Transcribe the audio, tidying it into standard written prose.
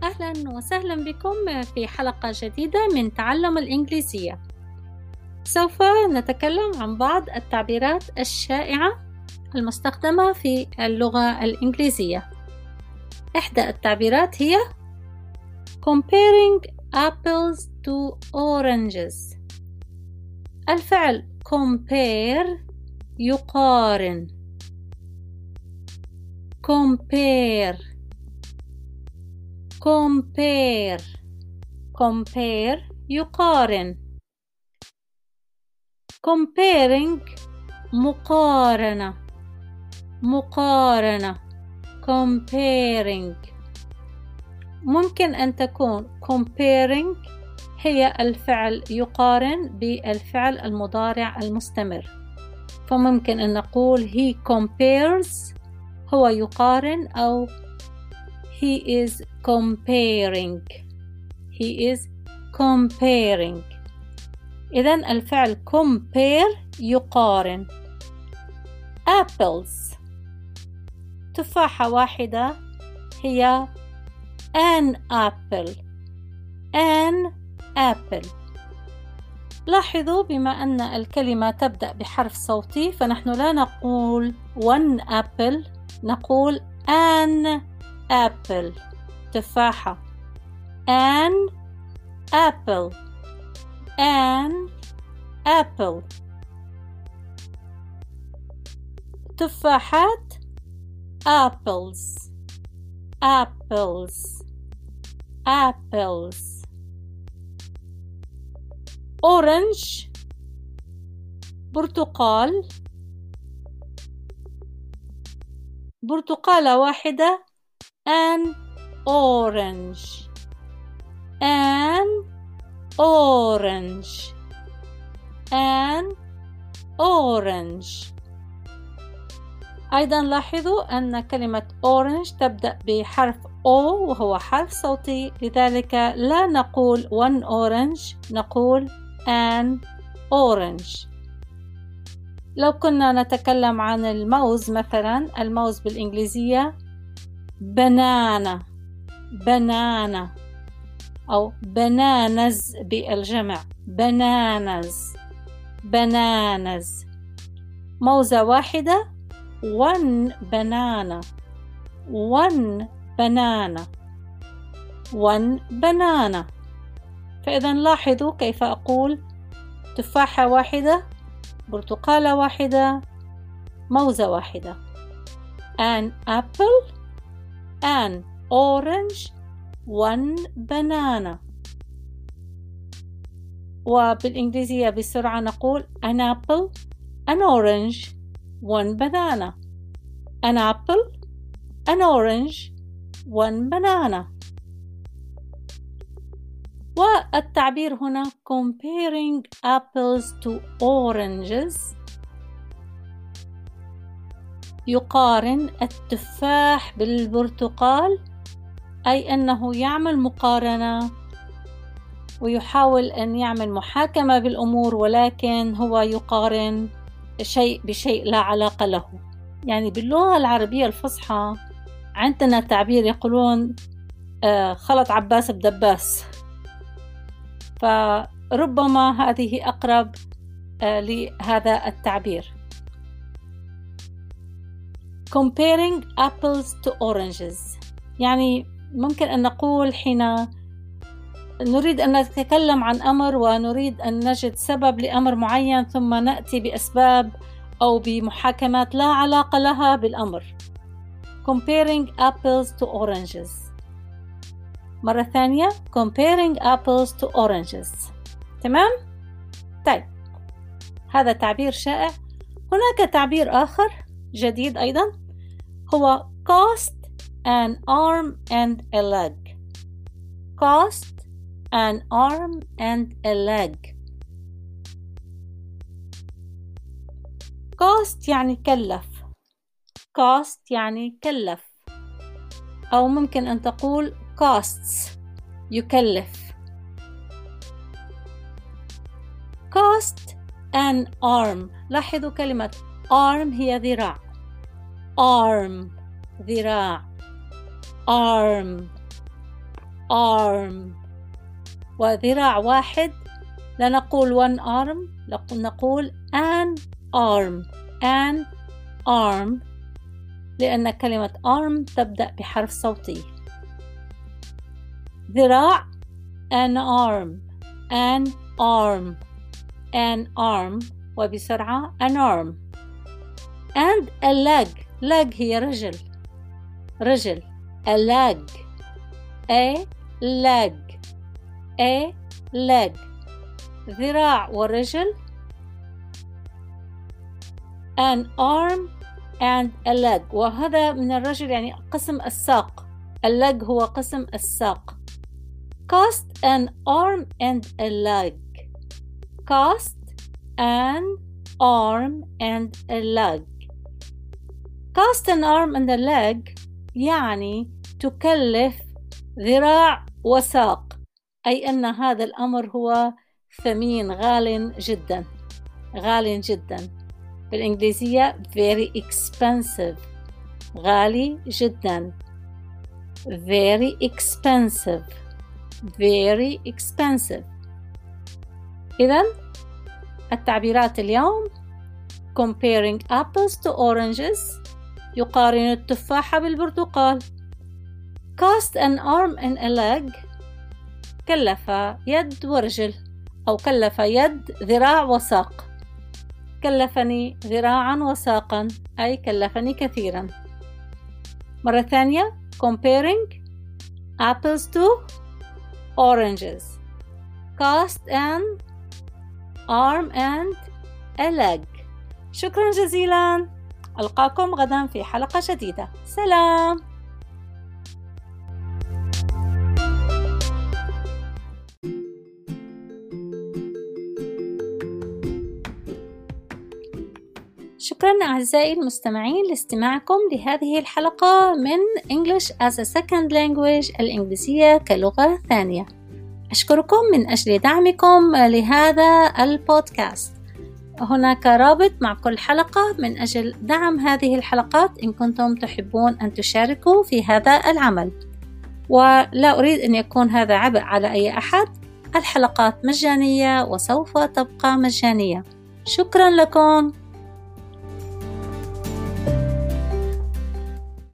أهلا وسهلا بكم في حلقة جديدة من تعلم الإنجليزية. سوف نتكلم عن بعض التعبيرات الشائعة المستخدمة في اللغة الإنجليزية. إحدى التعبيرات هي comparing apples to oranges. الفعل compare يقارن. compare يقارن. comparing مقارنة comparing. ممكن أن تكون comparing هي الفعل يقارن بالفعل المضارع المستمر، فممكن أن نقول he compares هو يقارن، أو he is comparing. إذن الفعل compare يقارن. apples تفاحة واحدة هي an apple. لاحظوا بما أن الكلمة تبدأ بحرف صوتي فنحن لا نقول one apple، نقول an apple تفاحة. an apple تفاحات apples. orange برتقالة واحدة an orange. أيضا لاحظوا أن كلمة orange تبدأ بحرف O وهو حرف صوتي، لذلك لا نقول one orange، نقول an orange. لو كنا نتكلم عن الموز مثلا، الموز بالإنجليزية banana أو bananas بالجمع bananas. موزة واحدة one banana. فإذا لاحظوا كيف أقول تفاحة واحدة، برتقالة واحدة، موزة واحدة. an apple، an orange، one banana. وبالإنجليزية بسرعة نقول an apple، an orange، one banana. an apple، an orange، one banana. والتعبير هنا comparing apples to oranges، يقارن التفاح بالبرتقال، أي أنه يعمل مقارنة ويحاول أن يعمل محاكمة بالأمور، ولكن هو يقارن شيء بشيء لا علاقة له. يعني باللغة العربية الفصحى عندنا تعبير يقولون خلط عباس بدباس، فربما هذه أقرب لهذا التعبير. comparing apples to oranges يعني ممكن أن نقول حين نريد أن نتكلم عن أمر ونريد أن نجد سبب لأمر معين، ثم نأتي بأسباب أو بمحاكمات لا علاقة لها بالأمر. comparing apples to oranges. مرة ثانية comparing apples to oranges. تمام؟ طيب، هذا تعبير شائع. هناك تعبير آخر جديد أيضا، هو cost an arm and a leg. cost an arm and a leg. cost يعني كلف، أو ممكن أن تقول costs يكلف. cost an arm، لاحظوا كلمة arm هي ذراع، arm ذراع arm. arm. وذراع واحد لا نقول one arm، نقول an arm لأن كلمة arm تبدأ بحرف صوتي. ذراع an arm وبسرعة an arm. and a leg هي رجل a leg ذراع ورجل an arm and a leg. وهذا من الرجل يعني قسم الساق، الleg هو قسم الساق. cast an arm and a leg. cast an arm and a leg. cast an arm and a leg يعني تكلف ذراع وساق، أي أن هذا الأمر هو ثمين غال جدا. بالإنجليزية very expensive، غالي جدا. very expensive. إذن التعبيرات اليوم: comparing apples to oranges، يقارن التفاحة بالبرتقال. cast an arm and a leg، كلف يد ورجل، أو كلف يد ذراع وساق. كلفني ذراعا وساقا، أي كلفني كثيرا. مرة ثانية: comparing apples to oranges. cast an arm and a leg. شكرا جزيلا، ألقاكم غدا في حلقة جديدة. سلام. شكرا أعزائي المستمعين لاستماعكم لهذه الحلقة من English as a Second Language، الإنجليزية كلغة ثانية. أشكركم من أجل دعمكم لهذا البودكاست. هناك رابط مع كل حلقة من أجل دعم هذه الحلقات إن كنتم تحبون أن تشاركوا في هذا العمل، ولا أريد أن يكون هذا عبء على أي أحد. الحلقات مجانية وسوف تبقى مجانية. شكرا لكم.